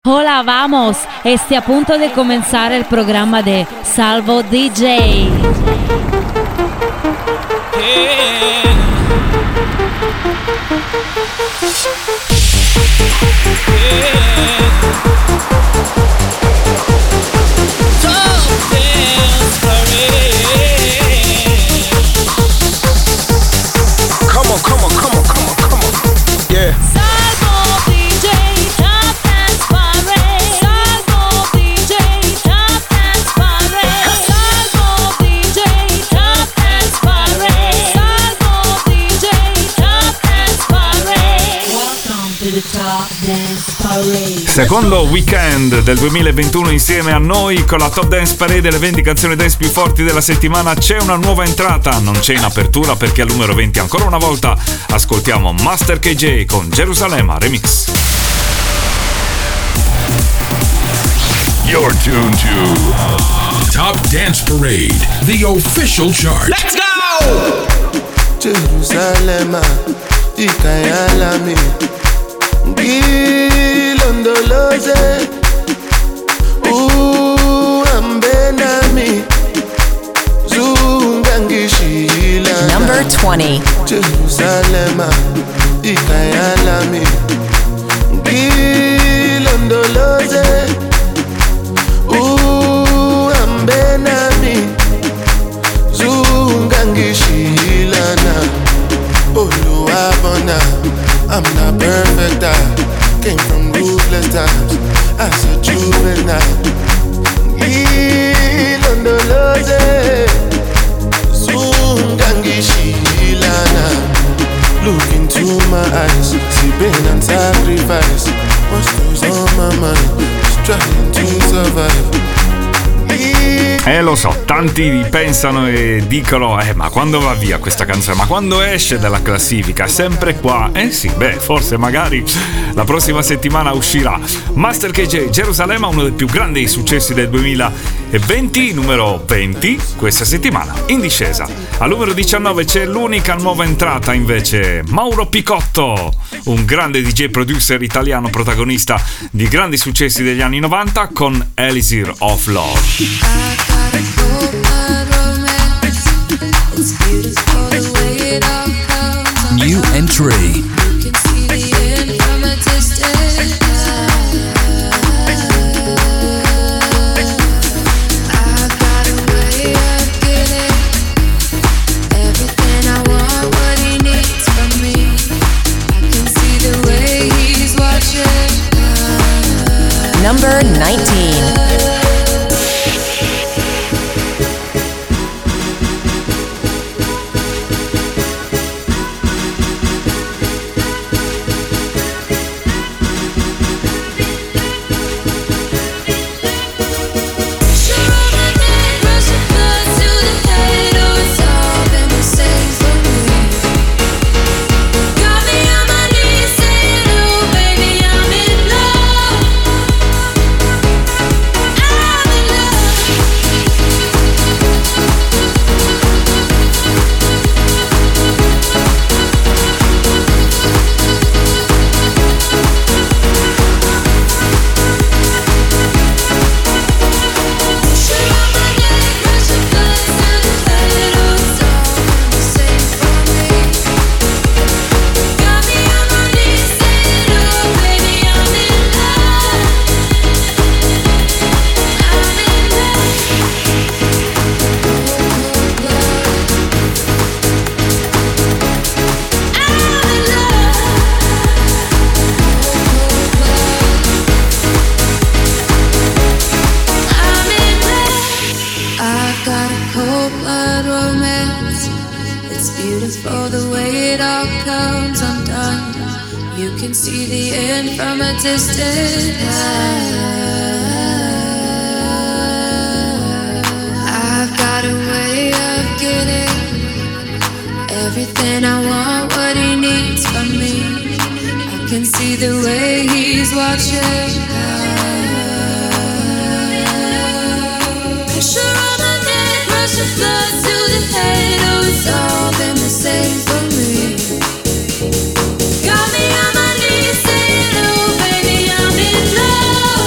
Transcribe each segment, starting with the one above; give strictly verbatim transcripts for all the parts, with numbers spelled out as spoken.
Hola, vamos. Esté a punto de comenzar el programa de Salvo D J. Yeah. Come on, come on, come on, come on, come on. Yeah. Salvo D J, Top Dance Parade. Salvo D J, Top Dance Parade. Salvo D J, Top Dance Parade. Salvo D J, Top Dance Parade. Welcome to the Top Dance Parade. Secondo weekend del duemilaventuno insieme a noi con la Top Dance Parade e le venti canzoni dance più forti della settimana. C'è una nuova entrata, non c'è in apertura perché al numero venti ancora una volta ascoltiamo Master K J con Gerusalemme Remix. You're tuned to Top Dance Parade, the official chart. Let's go! Gerusalemme, ikayalami, ngilondoloze, uhambenami, zungangishilana. Number twenty. Jerusalema, ikayalami, ngilondoloze, uhambenami, zungangishilana. Oluwabona, I'm not perfect, I came from ruthless times as a juvenile. Ngilondoloze, zungangishilana. Look into my eyes, see pain and sacrifice. What's goes on my mind, just trying to survive. Eh lo so, tanti pensano e dicono eh ma quando va via questa canzone? Ma quando esce dalla classifica? Sempre qua? Eh sì, beh, forse magari la prossima settimana uscirà. Master K J, Gerusalemme, uno dei più grandi successi del duemilaventi, numero venti questa settimana, in discesa. Al numero diciannove c'è l'unica nuova entrata invece, Mauro Picotto, un grande D J producer italiano protagonista di grandi successi degli anni novanta con Elixir of Love. New entry. Number nineteen. Got me on my knees saying, oh baby, I'm in love.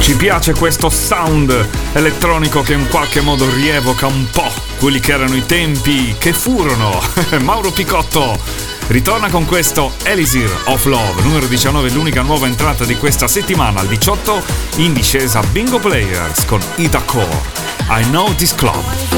Ci piace questo sound elettronico che in qualche modo rievoca un po' quelli che erano i tempi che furono. Mauro Picotto ritorna con questo Elixir of Love, numero diciannove, l'unica nuova entrata di questa settimana. Al diciotto in discesa Bingo Players con Ida Core, I Know This Club.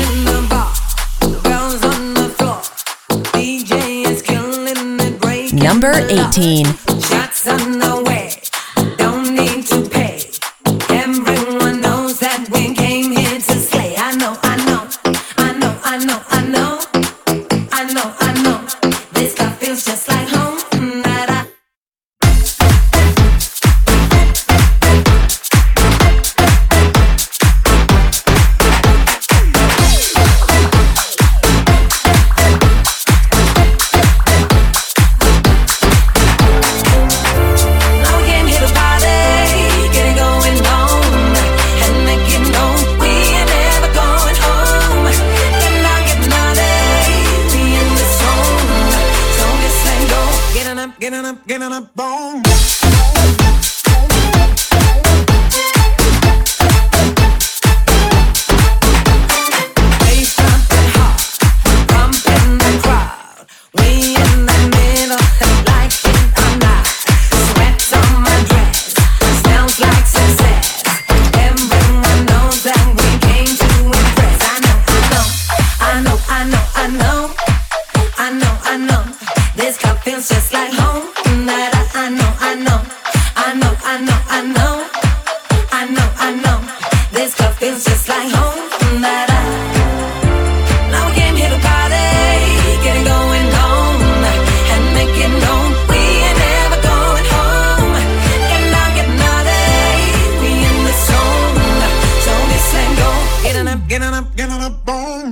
Number eighteen. Shots on the way, don't need to pay. Everyone knows that we came here to slay. I know, I know, I know, I know, I know, I know, I know. This stuff feels just like home. That I Getting up, getting up, boom. bass thumping hard, pumping the crowd. We in the middle, like it or not. Sweat on my dress, smells like success. Everyone knows that we came to impress. I know, I know, I know, I know, I know, I know. This cup feels just like home. That I, I know, I know, I know, I know, I know, I know, I know. This cup feels just like home. That I now we came here to party, get it going on, and make it known we ain't never going home. Get down, get naughty, we in the zone. So this ain't go. Getting up, getting up, getting up, boom.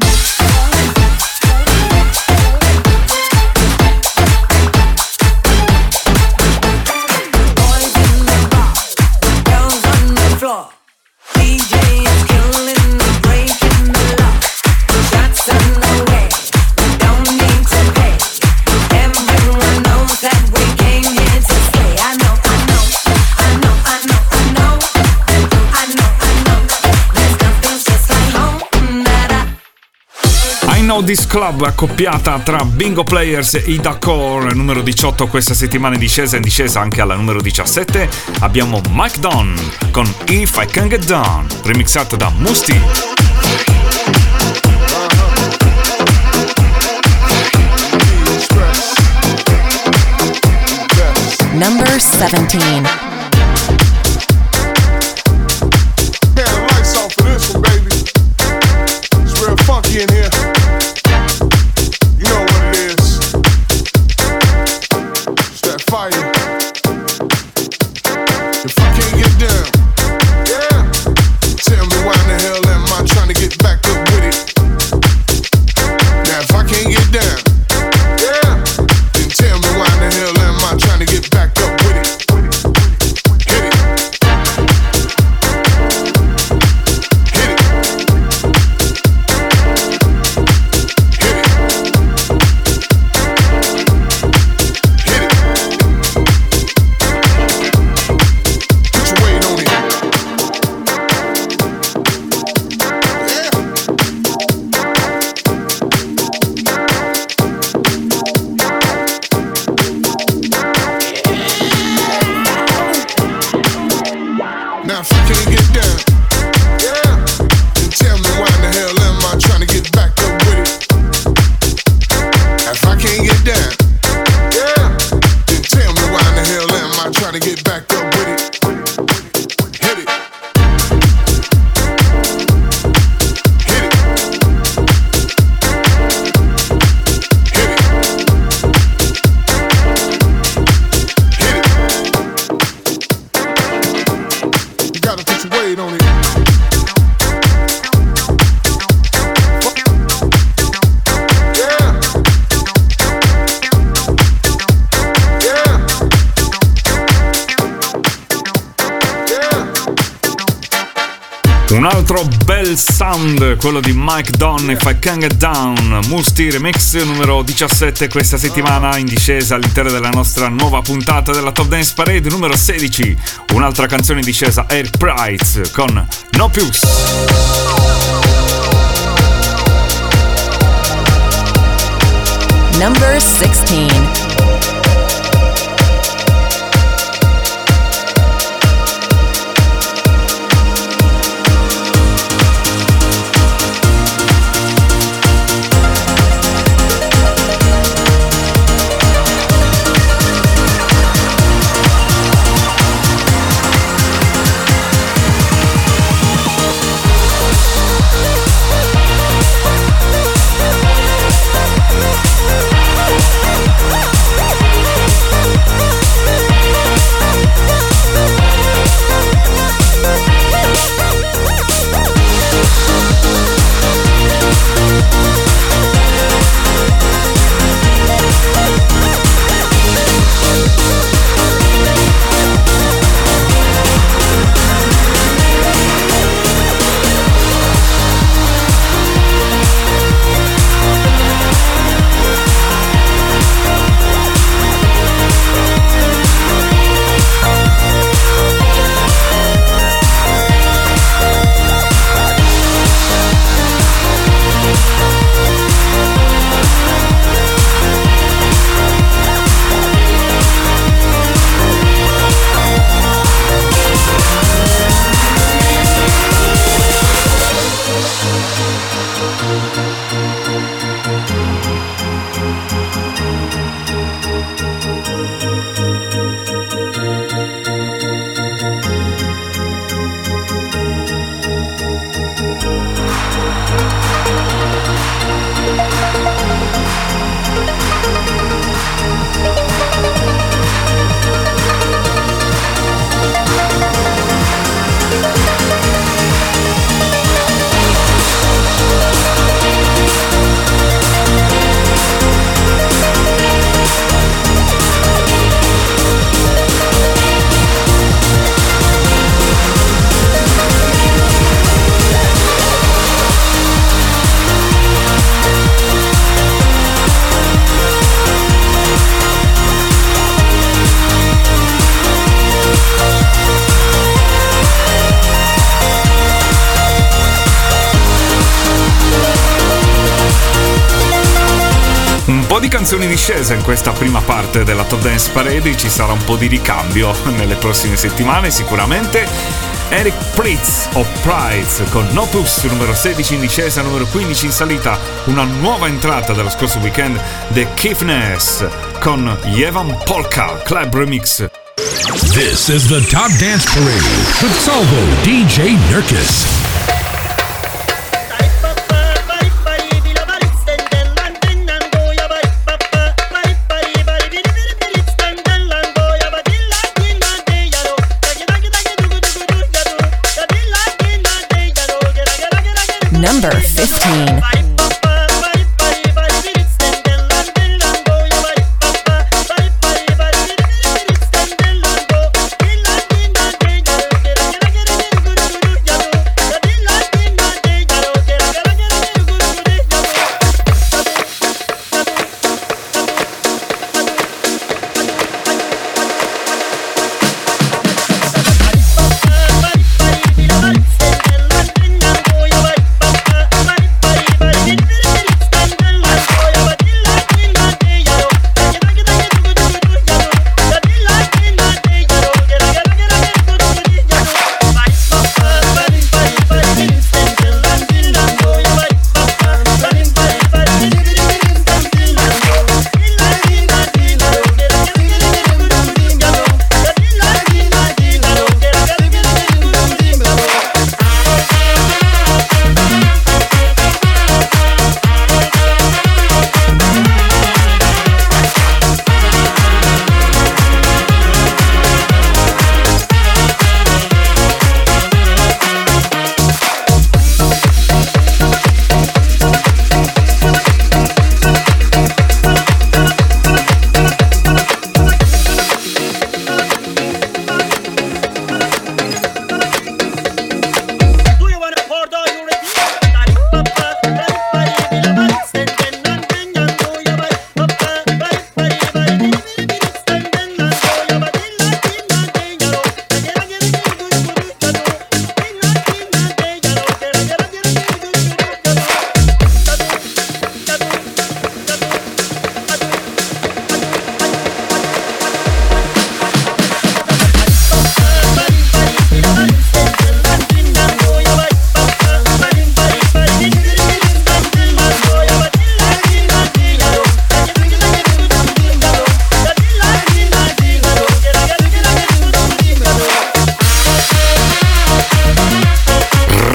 D J is killing the breaking the law. Shots on the way, we don't need to pay. Everyone knows that we came here to slay. I know, I know, I know, I know, I know, I know, I know. This stuff feels just like home. That I I Know This Club, accoppiata tra Bingo Players e Ida Core, numero diciotto questa settimana in discesa, in discesa anche alla numero diciassette abbiamo Mike Dunn con If I Can Get Down, remixato da Musti. Number seventeen. Man, the lights off for this one, baby. It's real funky in here. You know what it is. It's that fire. If I can't get down, yeah. Tell me why in the hell am I trying to get back up with it? Now if I can't get down, yeah. Then tell me why in the hell am I trying to get back up with it? Hit it. Hit it. Hit it. Hit it. Put your weight on it. Yeah. Now if I can't get down, yeah, then tell me why in the hell am I trying to get back up with it? If I can't get down, yeah, then tell me why in the hell am I trying to get back up with it? Hit it. Hit it. Hit it. Hit it. You gotta put your weight on it. Yeah. Yeah. Yeah. Un altro bel sound, quello di Mike Don, If I Can't Get Down, Musti Remix numero diciassette questa settimana, in discesa all'interno della nostra nuova puntata della Top Dance Parade numero sedici. Un'altra canzone in discesa, Eric Prydz con No Pius. Number sixteen. Di canzoni in discesa in questa prima parte della Top Dance Parade, ci sarà un po' di ricambio nelle prossime settimane sicuramente. Eric Prydz o Prydz con No Pius numero sedici in discesa, numero quindici in salita, una nuova entrata dello scorso weekend, The Kiffness con Yevan Polka Club Remix. This is the Top Dance Parade with Salvo D J Nurkis. Number fifteen. Bye.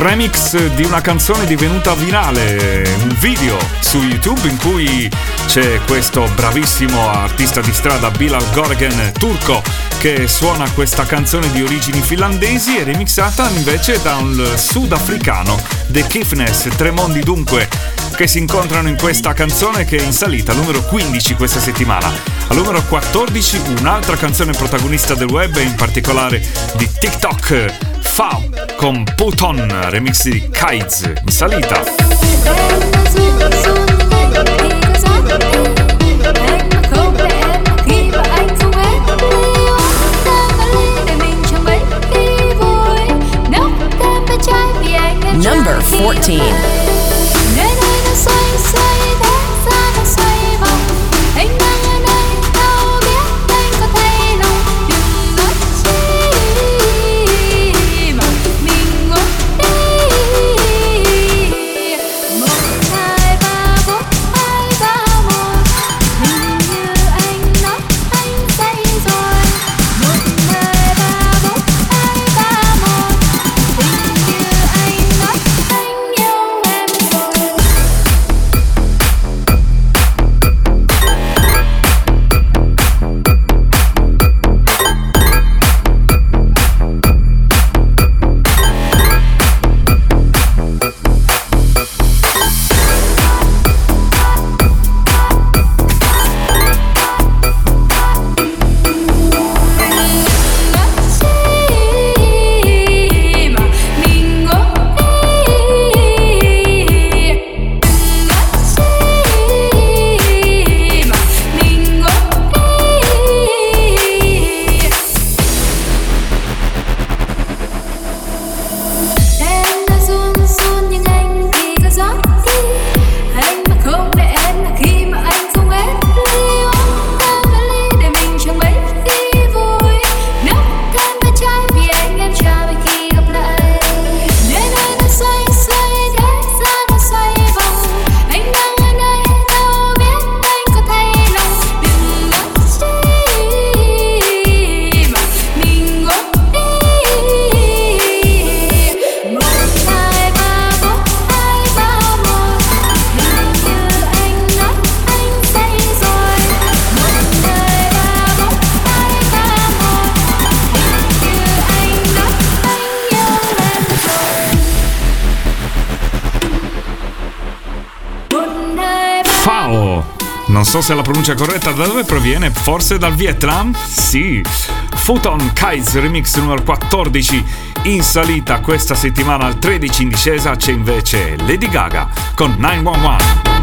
remix di una canzone divenuta virale, un video su YouTube in cui c'è questo bravissimo artista di strada Bilal Gorgen turco che suona questa canzone di origini finlandesi e remixata invece da un sudafricano, The Kiffness, tre mondi dunque che si incontrano in questa canzone che è in salita al numero quindici questa settimana. Al numero quattordici un'altra canzone protagonista del web e in particolare di TikTok, Fao con Put On, remix di Kites, in salita. Number fourteen. Non so se la pronuncia è corretta, da dove proviene? Forse dal Vietnam? Sì! Futon Kites remix numero quattordici in salita questa settimana, al tredici in discesa c'è invece Lady Gaga con nove uno uno.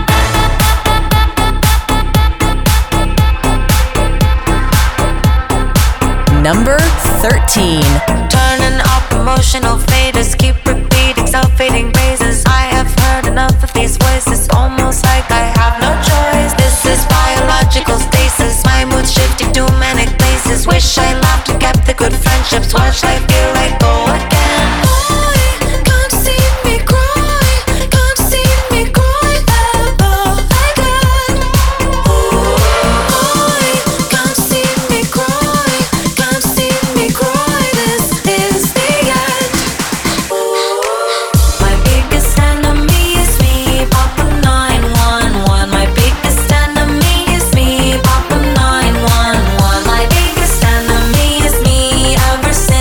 Number thirteen. Turning up emotional faders, keep repeating self-fading praises. I have heard enough of these voices, almost like I have no choice. This is biological stasis, my mood shifting to manic places. Wish I laughed and kept the good friendships, watch life feel like go again. I can't see me cry, can't see me cry ever again. I can't see me cry, can't see me cry, this is the end. My biggest enemy is me, Papa nine one one. My biggest enemy is me, Papa nine one one. My biggest enemy is me, ever since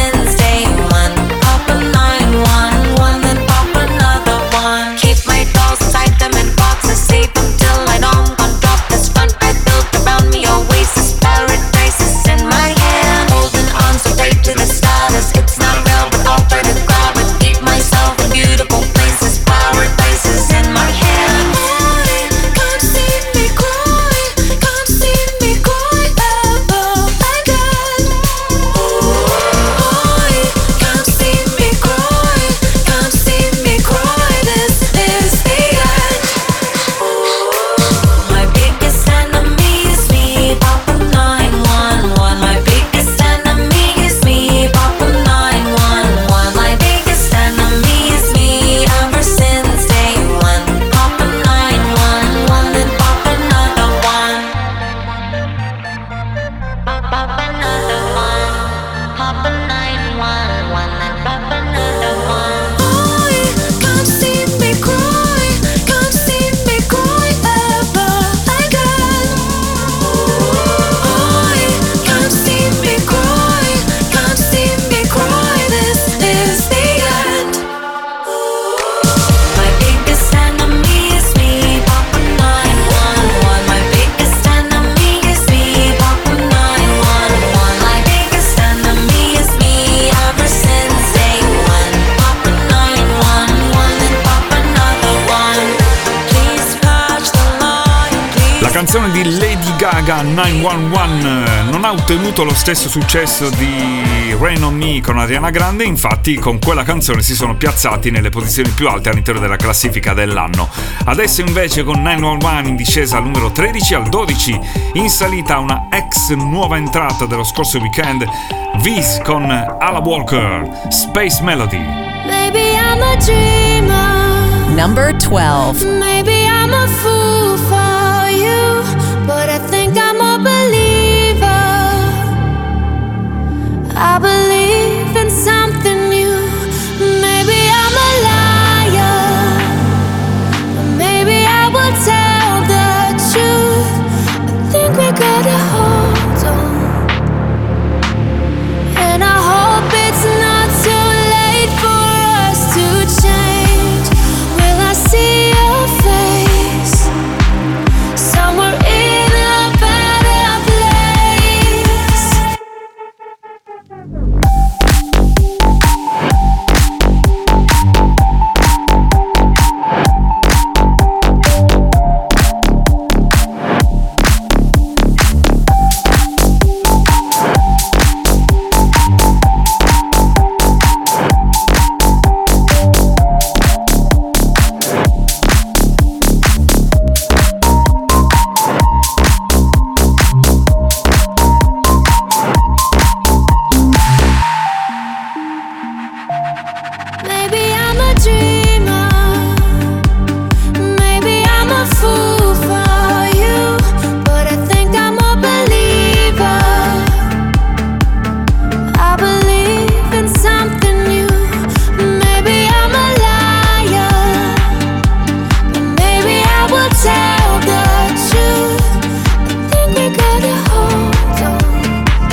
canzone di Lady Gaga, nove uno uno, non ha ottenuto lo stesso successo di Rain on Me con Ariana Grande, infatti con quella canzone si sono piazzati nelle posizioni più alte all'interno della classifica dell'anno. Adesso invece con nove uno uno in discesa al numero tredici, al dodici in salita una ex nuova entrata dello scorso weekend, Viz con Ala Walker, Space Melody. Maybe I'm a dreamer. Number twelve. Maybe I'm a fool for you, but I think I'm a believer. I believe in something new. Maybe I'm a liar, but maybe I will tell the truth. I think we gotta hold on, and I hope it's not too late for us to change. Will I see your face somewhere in a better place? Maybe I'm a dreamer. Maybe I'm a fool for you, but I think I'm a believer. I believe in something new. Maybe I'm a liar, but maybe I will tell the truth. I think we gotta hold on,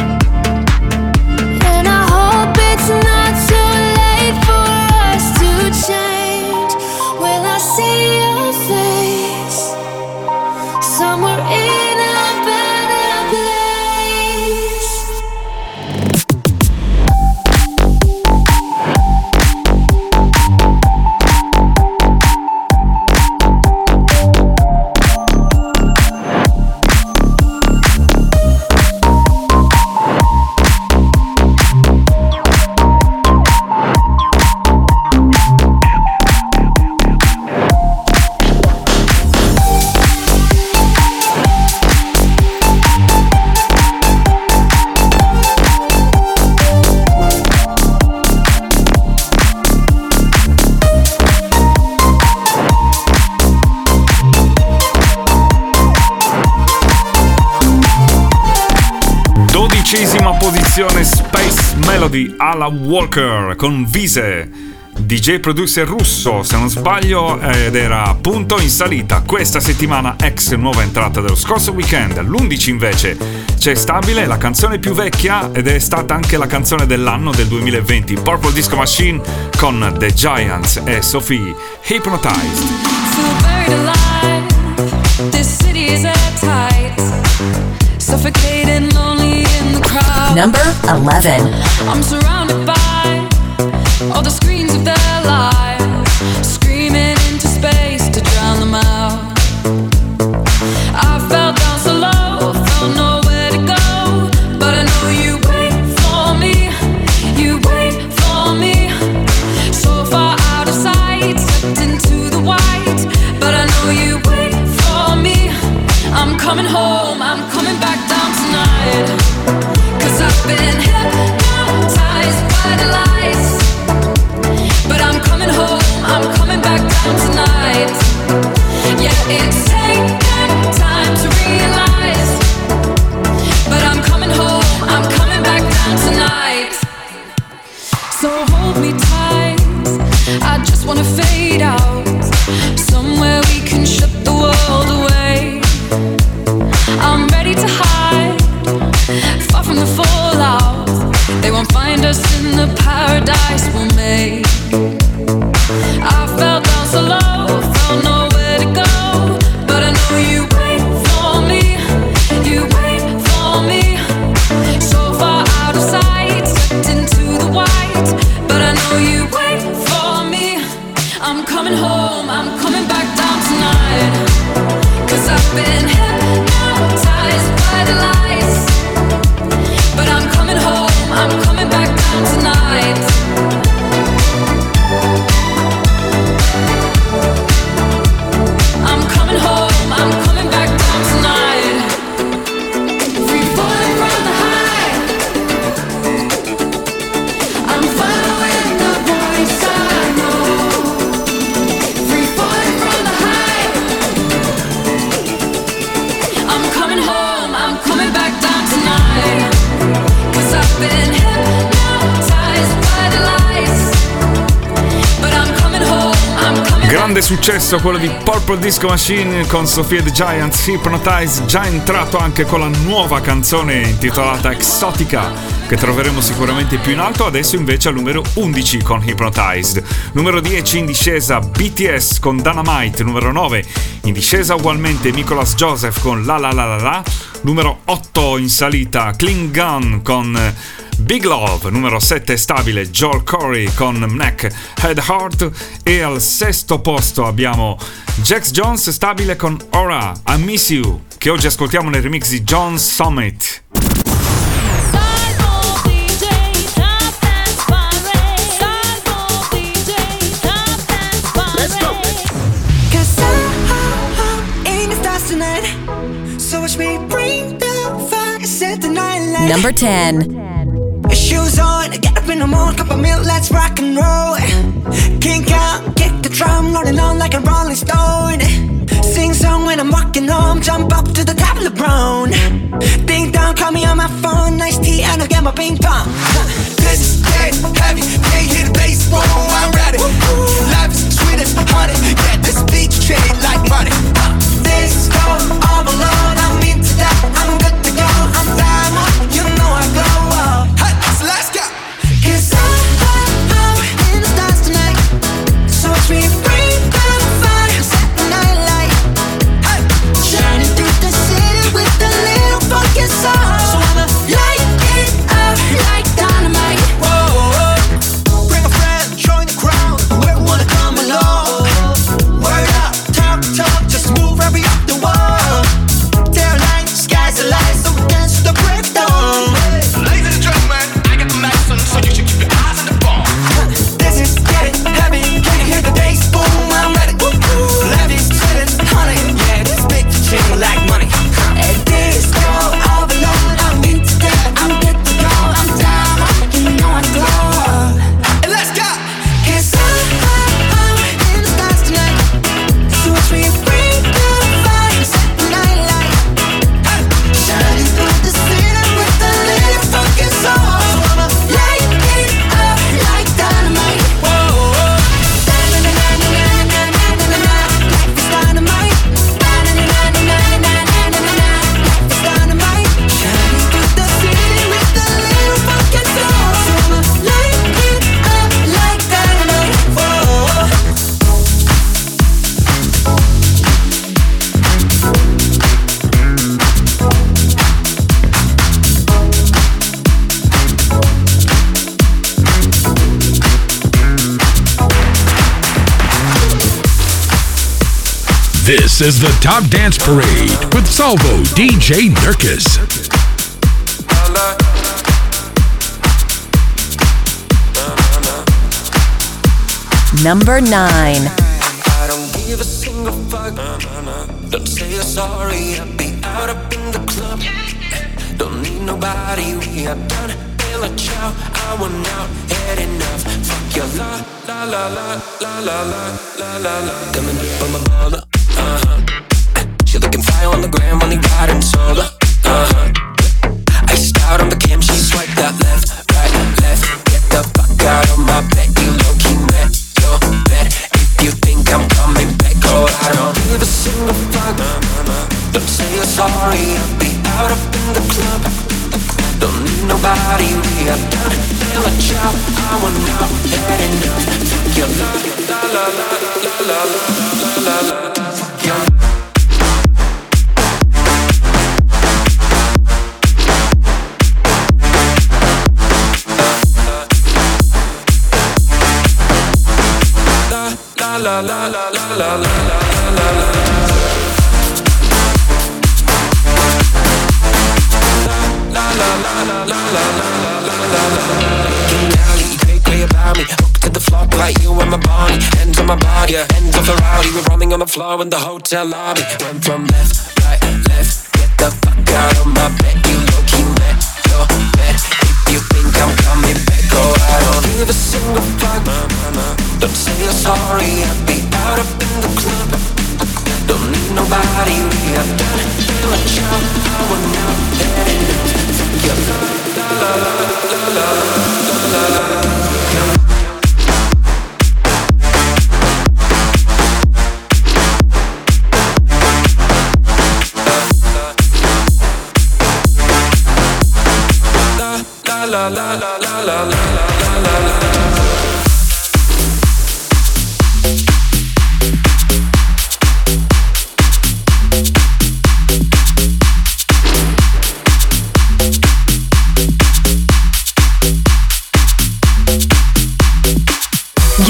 and I hope it's not too late for us to change. Will I see your face somewhere in a better place? Dodicesima posizione, Space Melody, Ala Walker con Vise, D J producer russo se non sbaglio, ed era appunto in salita questa settimana, ex nuova entrata dello scorso weekend. All'undici invece c'è Stabile, la canzone più vecchia ed è stata anche la canzone dell'anno del duemilaventi, Purple Disco Machine con The Giants e Sophie, Hypnotized. Feel buried alive. This city is airtight. Suffocating, lonely in the crowd. Number eleven. I'm surrounded by all the screens of their lives, screaming into space to drown them out. I fell down so low, felt nowhere to go, but I know you wait for me, you wait for me. So far out of sight, stepped into the white, but I know you wait for me. I'm coming home, I'm coming back down tonight, 'cause I've been hypnotized by the lights. But I'm coming home, I'm coming back down tonight. Yeah, it's taken time to realize, but I'm coming home, I'm coming back down tonight. So hold me tight, I just wanna fade out, somewhere we can shut the world away. I'm ready to hide, far from the fallout. They won't find us in the paradise we'll make. I fell down so low, felt nowhere to go, but I know you wait for me, you wait for me. So far out of sight, stepped into the white, but I know you wait for me. I'm coming home, I'm coming back down tonight, 'cause I've been hypnotized Grande successo quello di Purple Disco Machine con Sophia the Giants, Hypnotize, già entrato anche con la nuova canzone intitolata Exotica, che troveremo sicuramente più in alto. Adesso invece al numero undici con Hypnotized. Numero dieci in discesa B T S con Dynamite. Numero nove in discesa ugualmente Nicholas Joseph con La La La La La. Numero otto in salita Klingon con Big Love. Numero sette stabile Joel Corey con Neck Head Heart. E al sesto posto abbiamo Jax Jones stabile con Aura I Miss You, che oggi ascoltiamo nel remix di John Summit. Number ten. Shoes on, get up in the morning, cup of milk, let's rock and roll. Kink out, kick the drum, rolling on like a rolling stone. Sing song when I'm walking home, jump up to the top of the brown. Ding dong, call me on my phone, nice tea, and I'll get my ping pong. This is dead heavy, can't hear the bass, boom, I'm ready. Life is sweet as honey, yeah, this beat treated like money. This go all alone, I'm into that, I'm good to go, I'm diamond, you know I glow up. Hey, so let's go. Cause I'm, I'm in the stars tonight, so watch me bring the fire, set the night light. Hey, shining through the city with a little funky soul. So I'ma light it up like dynamite. Whoa, bring a friend, join the crowd, whoever wanna come along. Word up, talk, talk, just move right up the wall. Day or night, sky's the light, so we dance to the break of dawn. Ladies and gentlemen, I got the medicine, so you should keep your eyes on the ball. This is getting heavy, can you hear the bass boom? I'm ready. Levy's sitting, honey, yeah, this beat chain like money. And this go all alone, I'm into that, I'm good to go, I'm down, you know I glow. And let's go. Cause I'm in the stars tonight, so watch me bring the fire, set the night light. Hey, shining through the city with a little funky soul. So I'ma light it up like dynamite. Whoa, da-na-na-na-na-na-na-na-na-na. Life is dynamite. Da-na-na-na-na-na-na-na-na. Life is dynamite. Shining through the city with a little funky soul. So I'ma light it up like dynamite. Whoa. This is the Top Dance Parade with Salvo D J Nurkis. Number nine. I don't give a single fuck. Don't say you're sorry, I'll be out up in the club. Don't need nobody, we are done. Bill a chow, I want out, had enough. Fuck your la, la la la, la la la, la la la. Coming up on my baller, uh-huh. She looking fire on the gram, only riding solo, uh-huh. Iced out on the cam, she swiped that left, right, left. Get the fuck out of my bed, you low-key met your bed. If you think I'm coming back, oh, I don't give a single fuck. Don't say you're sorry, I'll be out up in the club. Don't need nobody, we are done. Feel a job, I want out, had enough. Fuck your la, la la la la la la la la. Fuck your la la la la la la la la la. La la la la la la la la la. Getting out, you cray cray about me. Hooked to the floor like you and my body. Hands on my body, hands off the rowdy. We're rolling on the floor in the hotel lobby. Went from left, right, left. Get the fuck out of my bed. You low-key met your bed. If you think I'm coming back, oh, I don't give a single fuck. Don't say you're sorry, I'll be out up in the club. Don't need nobody, we are done. Feel a job, I want out, that enough. Fuck your la la la la la la la la la.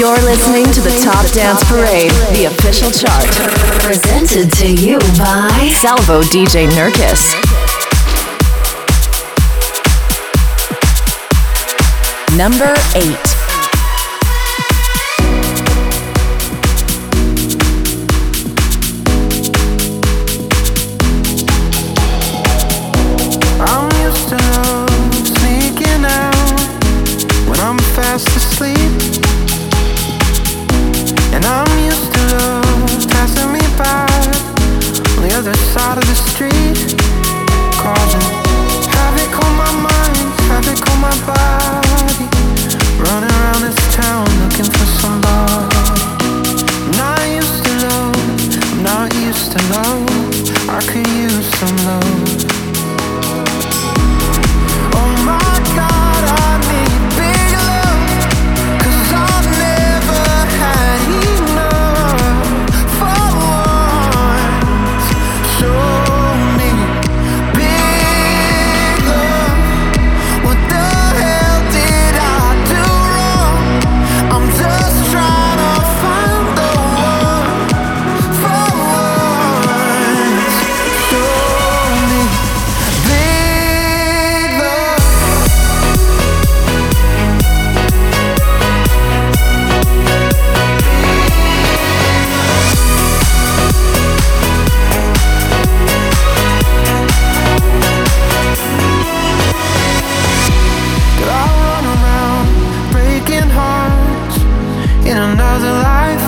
You're listening to the Top Dance Parade, the official chart. Presented to you by Salvo D J Nurkis. Number eight. I'm used to love sneaking out when I'm fast asleep, and I'm used to love passing me by on the other side of the street, causing havoc on my mind, havoc on my body, running around this town looking for somebody. I'm not used to love, I'm not used to love, I could use some love. Oh my God, I need big love, 'cause I've never had enough. For once, show me big love. What the hell did I do wrong? I'm just trying to find the one. For once, show me big love. Did I run around breaking hearts in another life?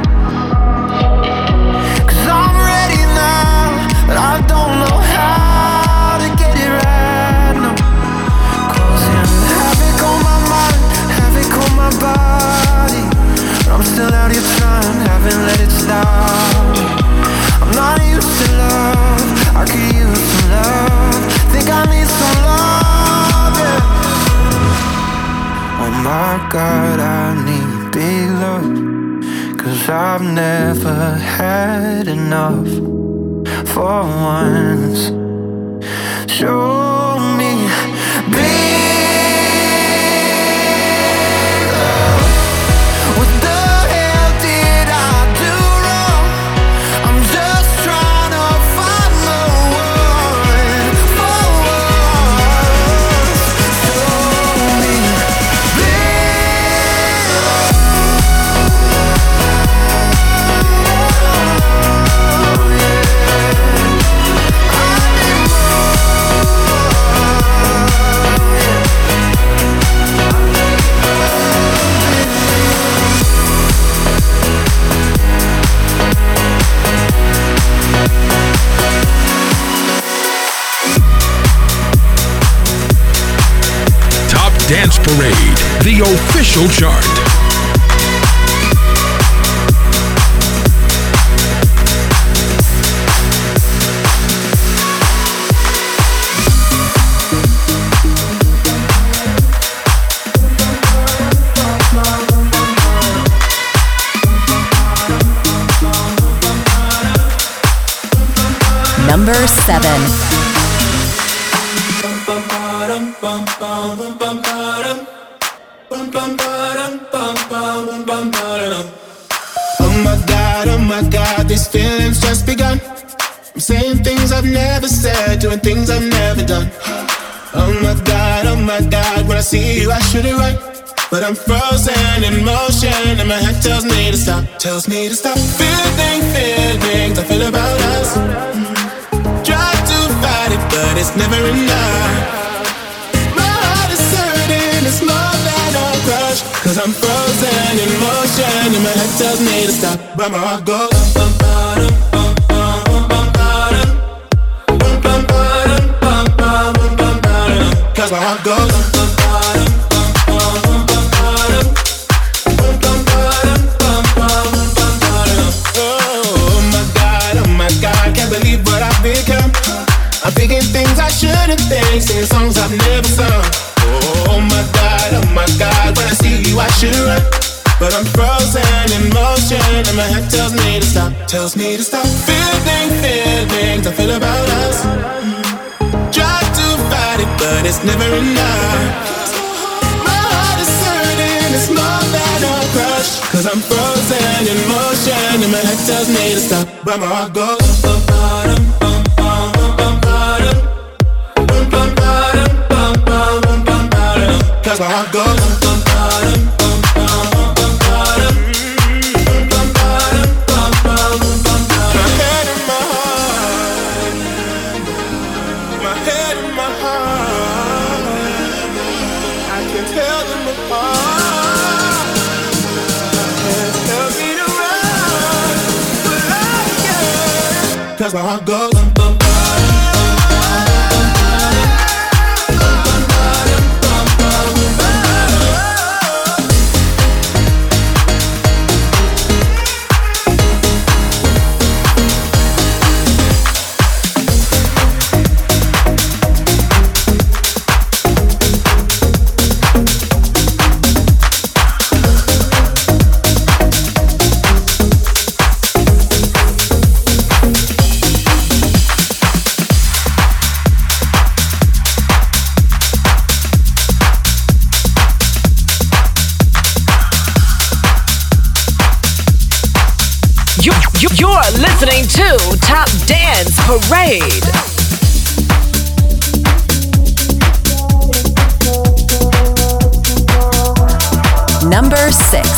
'Cause I'm ready now, but I don't know how to get it right now. Causing havoc on my mind, havoc on my body. I'm still out here trying, haven't let it stop. I'm not used to love, I could use some love. Think I need some love, yeah. Oh my God, I need big love, 'cause I've never had enough. For once, show me big love. What the hell did I do wrong? I'm just trying to find the one. For once, show me big love. Top Dance Parade, the official chart. Number seven. Oh my God, oh my God, these feelings just begun. I'm saying things I've never said, doing things I've never done. Oh my God, oh my God, when I see you I shoot it right, but I'm frozen in motion and my head tells me to stop, tells me to stop. Feeling, feelings I feel about us. Try to fight it, but it's never enough. My heart is hurting, it's more than a crush, 'cause I'm frozen in motion and my head tells me to stop, but my heart goes bum, bum, bum, bum, bum, bum, bum, bum, bum, bum, bum, bum, bum, bum, 'cause my heart goes bum, bum, bum, bum, bum, bum, bum, bum, bum, bum, bum, bum. Oh my God, oh my God, can't believe what I've become. I'm thinking things I shouldn't think, singing songs I've never sung. Oh my God, oh my God, when I see you I should run, but I'm frozen in motion and my head tells me to stop, tells me to stop. Feeling, feelings I feel about us. Try to fight it, but it's never enough. My heart is hurting, it's more than a crush, cause I'm frozen in motion, and my head tells me to stop, but my heart goes bum, bum, bum, bum, bum, bum, bum, bum, bum, bum, bum, bum, bum, bum, cause my heart goes bum, bum, bum, bum, bum, bum, bum, bum, bum, bum, bum, bum. My head and my heart, my head and my heart, I can tell them apart. Tell me to run, but I can't, cause my heart goes bum, bum, bum. You're listening to Top Dance Parade. Number six.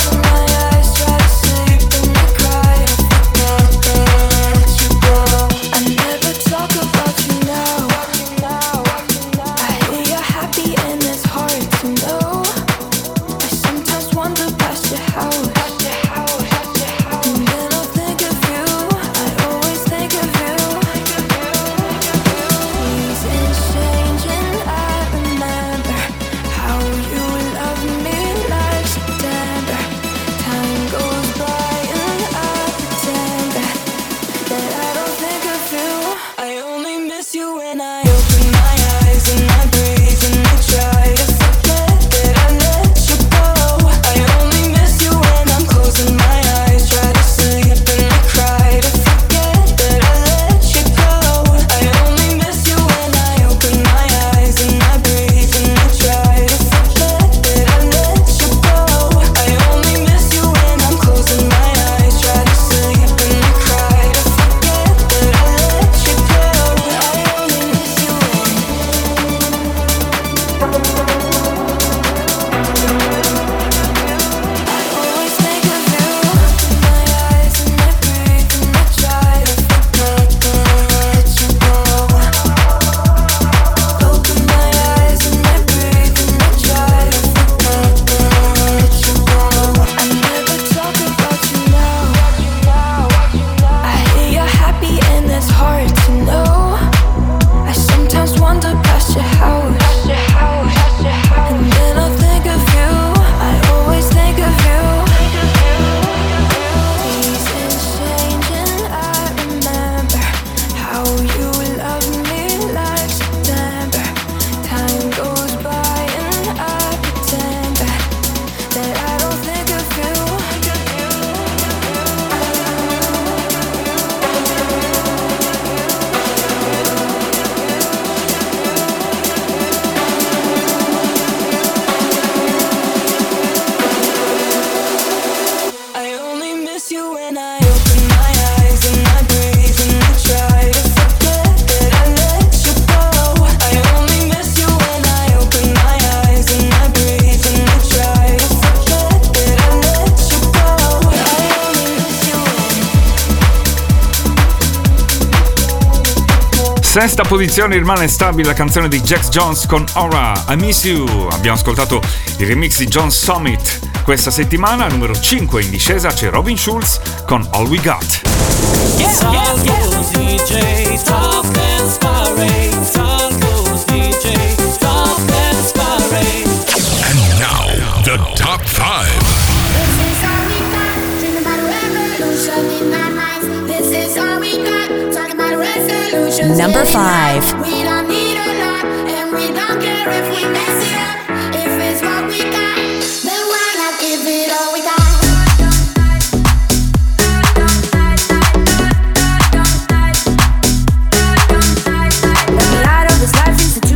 Sesta posizione rimane stabile la canzone di Jax Jones con Aura, I Miss You. Abbiamo ascoltato il remix di John Summit. Questa settimana, numero cinque in discesa, c'è Robin Schulz con All We Got. Yeah, yeah, yeah. D J Top Dance Parade. Salgo's D J Top Dance Parade. And now, the top five. This is all we got. Dream about a revolution in our minds. This is all we got. Talking about a resolution. Number five. We don't need a lot, and we don't care if we mess it up. If it's what we got, then why not give it all we got?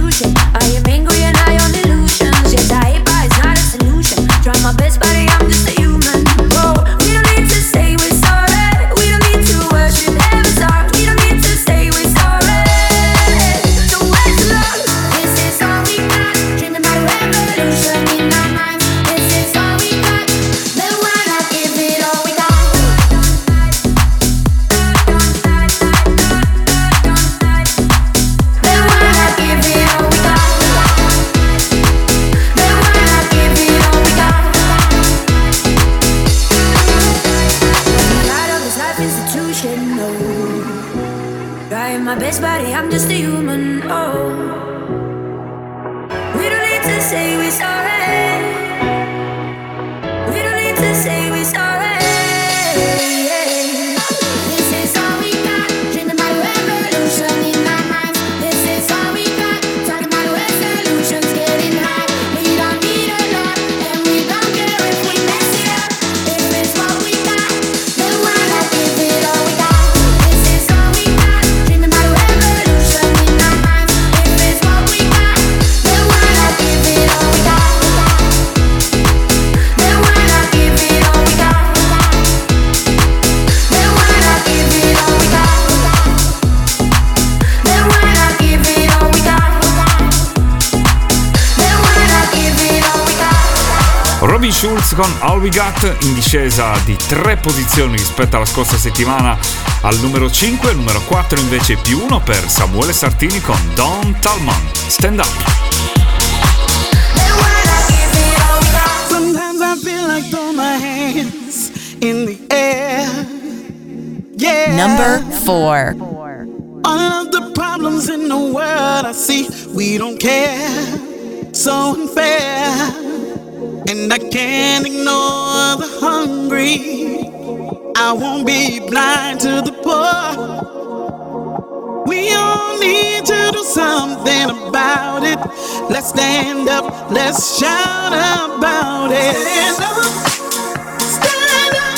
My best buddy, I'm just a my best buddy, I'm just a human. Oh, we don't need to say we're sorry. We don't need to say we're sorry. This is all we got. Dreaming about a revolution in our minds. This is all we got. Talking about resolutions, getting high. We don't need a lot, and we don't care if we mess it up. If it's what we got, then why not give it all we got? This is all we got. Dreaming about a revolution in our minds. If it's what we got, then why not give it all we got? Then why not give it all we got? Then why not give it all we got? Then why not give it all we got? Then why not give it all we got? Robin Schulz con All We Got, in discesa di tre posizioni rispetto alla scorsa settimana al numero cinque, al numero quattro invece più uno per Samuele Sartini con Don Tallman, Stand Up. Sometimes I feel like throw my hands in the air. Yeah. Number four. All of the problems in the world I see, we don't care. So unfair. And I can't ignore the hungry. I won't be blind to the poor. We all need to do something about it. Let's stand up, let's shout about it. Stand up, stand up,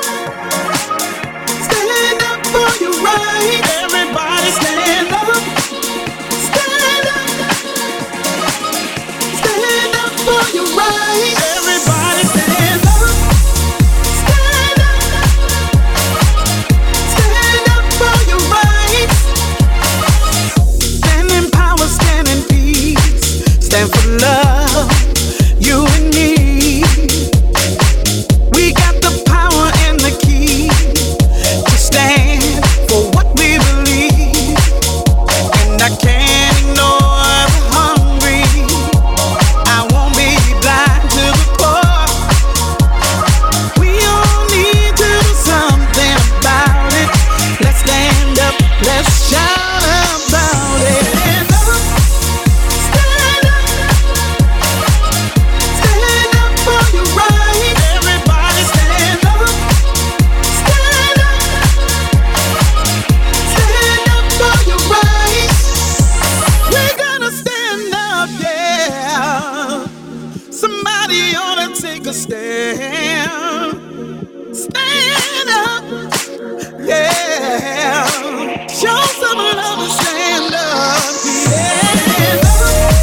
stand up for your right. Everybody stand up, stand up, stand up for your right. Everybody stand up, stand up, stand up for your right. Stand in power, stand in peace, stand for love, you and me. We got the power and the key to stand for what we believe. And I can't ignore the hungry. I won't be blind to the poor. We all need to do something about it. Let's stand up, let's shout about it. Stand up, stand up, stand up for your right. Everybody stand up, stand up, stand up for your right. We're gonna stand up, yeah. Somebody ought to take a stand. Stand up, yeah. Show some love and stand up, yeah. Stand up,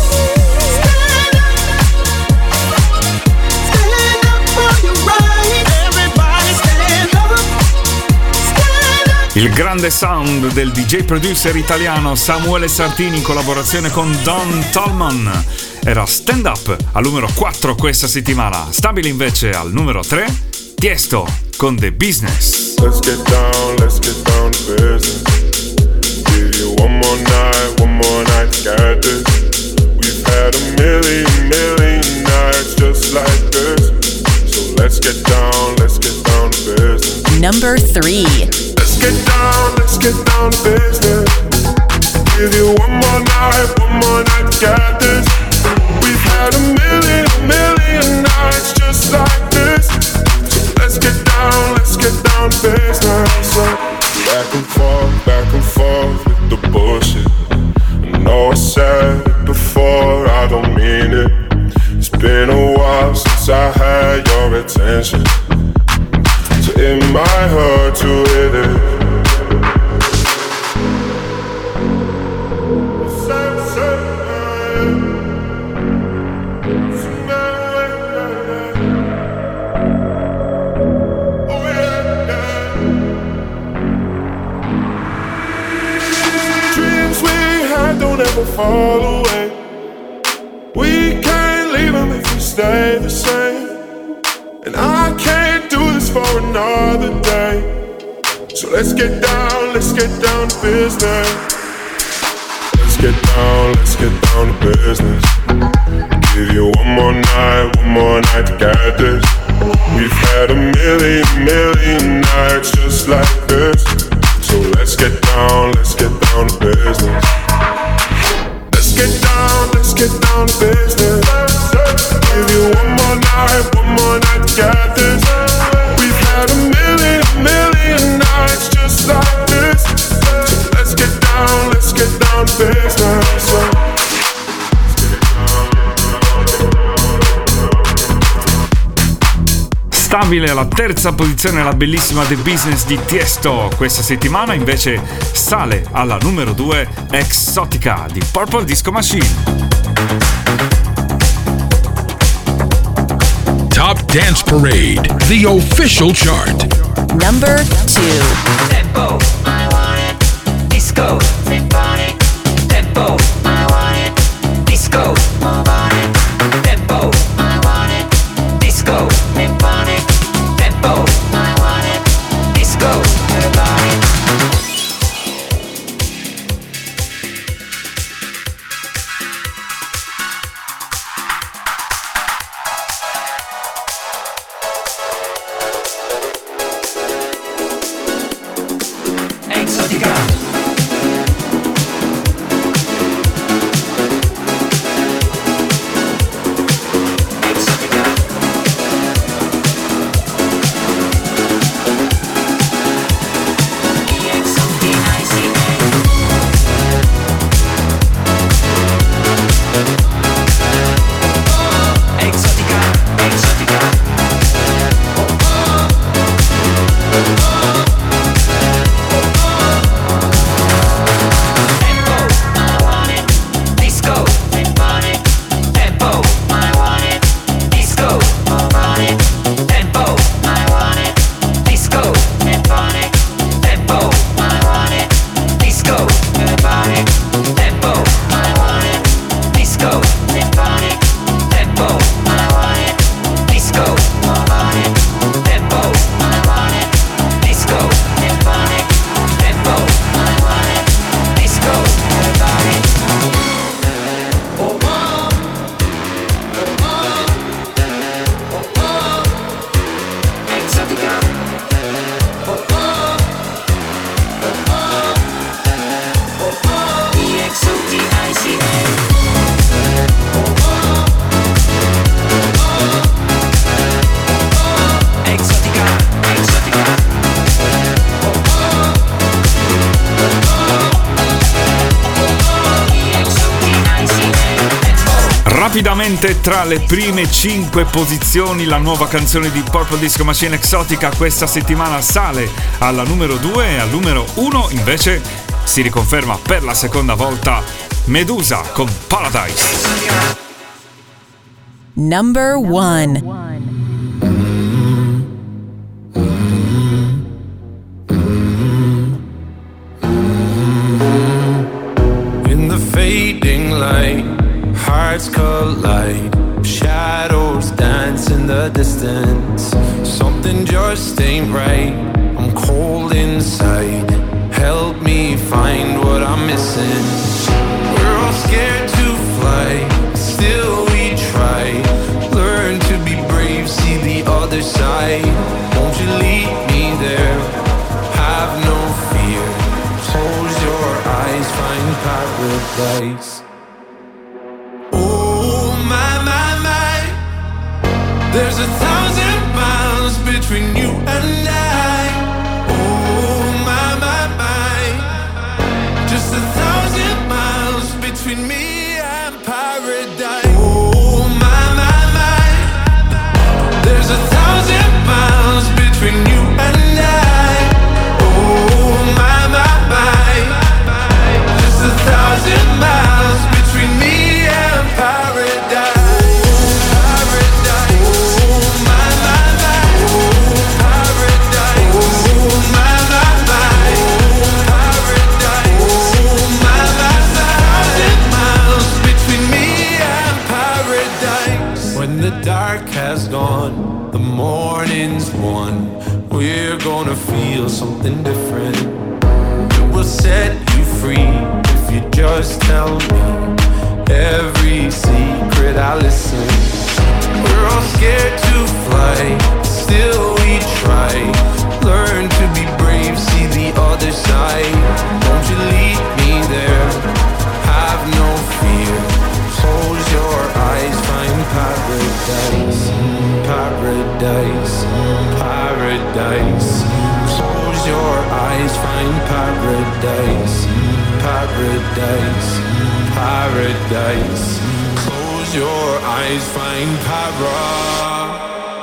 stand up for your right. Everybody stand up, stand up. Il grande sound del D J producer italiano Samuele Sartini in collaborazione con Don Tallman era Stand Up al numero quattro questa settimana. Stabile invece al numero tre, Tiesto con The Business. Let's get down, let's get down to business. Give you one more night, one more night to get this. We've had a million, million nights just like this. So let's get down, let's get down to business. Number three. Let's get down, let's get down to business. Give you one more night, one more night to get this. We've had a million, a million nights just like this. So let's get down, let's get down to business. So back and forth, back and forth with the bullshit. I know I said it before, I don't mean it. It's been a while since I had your attention. So it might hurt to hit it. Dreams we had don't ever fall away. We can't leave them if we stay the same. And I can't do this for another day. So let's get down, let's get down to business. Let's get down, let's get down to business. Give you one more night, one more night to get this. We've had a million, million nights just like this. So let's get down, let's get down down to business. Let's get down, let's get down to business. Give you one more night, one more night to get this. We've had a million, a million nights just like this. So let's get down, let's get down to business. Stabile alla terza posizione la bellissima The Business di Tiesto. Questa settimana invece sale alla numero due Exotica di Purple Disco Machine. Top Dance Parade, the official chart. Number two. Tempo, I want it. Disco, symphonic. Tempo, I want it. Disco, symphonic. Tempo, I want it. Disco, symphonic. Tempo, I want it. Disco, symphonic. Exotica. Rapidamente tra le prime cinque posizioni la nuova canzone di Purple Disco Machine Exotica questa settimana sale alla numero due e al numero uno invece si riconferma per la seconda volta Medusa con Paradise. Number one. In the fading light, hearts collide, shadows dance in the distance. Something just ain't right, I'm cold inside. Help me find what I'm missing. We're all scared to fly, still we try. Learn to be brave, see the other side. Won't you lead me there? Have no fear. Close your eyes, find paradise. There's a thousand miles between you and I. Oh my, my, my. Just a thousand miles between me and paradise. Oh my, my, my. There's a thousand miles between you and I. Oh my, my, my. Just a thousand miles between me and paradise. The dark has gone, the morning's won. We're gonna feel something different. It will set you free if you just tell me every secret I listen. We're all scared to fly, still we try. Learn to be brave, see the other side. Won't you lead me paradise. Close your eyes, find paradise. Paradise, paradise. Close your eyes, find para.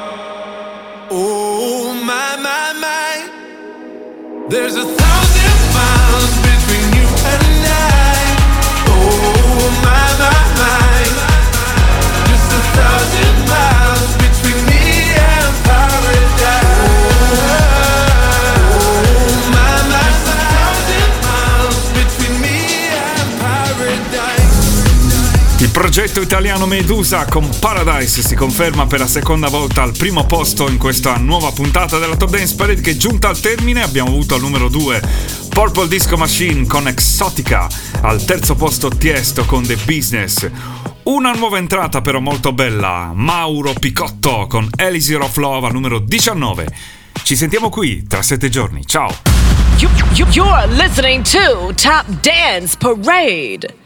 Oh my, my, my. There's a thousand miles between you and I. Oh my, my, my. Just a thousand miles between me and paradise. Oh my, my, a thousand miles between me and paradise. Il progetto italiano Medusa con Paradise si conferma per la seconda volta al primo posto in questa nuova puntata della Top Dance Parade, che è giunta al termine. Abbiamo avuto al numero due Purple Disco Machine con Exotica, al terzo posto Tiesto con The Business. Una nuova entrata però molto bella, Mauro Picotto con Elixir of Love al numero diciannove. Ci sentiamo qui tra sette giorni, ciao! You, you, you're listening to Top Dance Parade.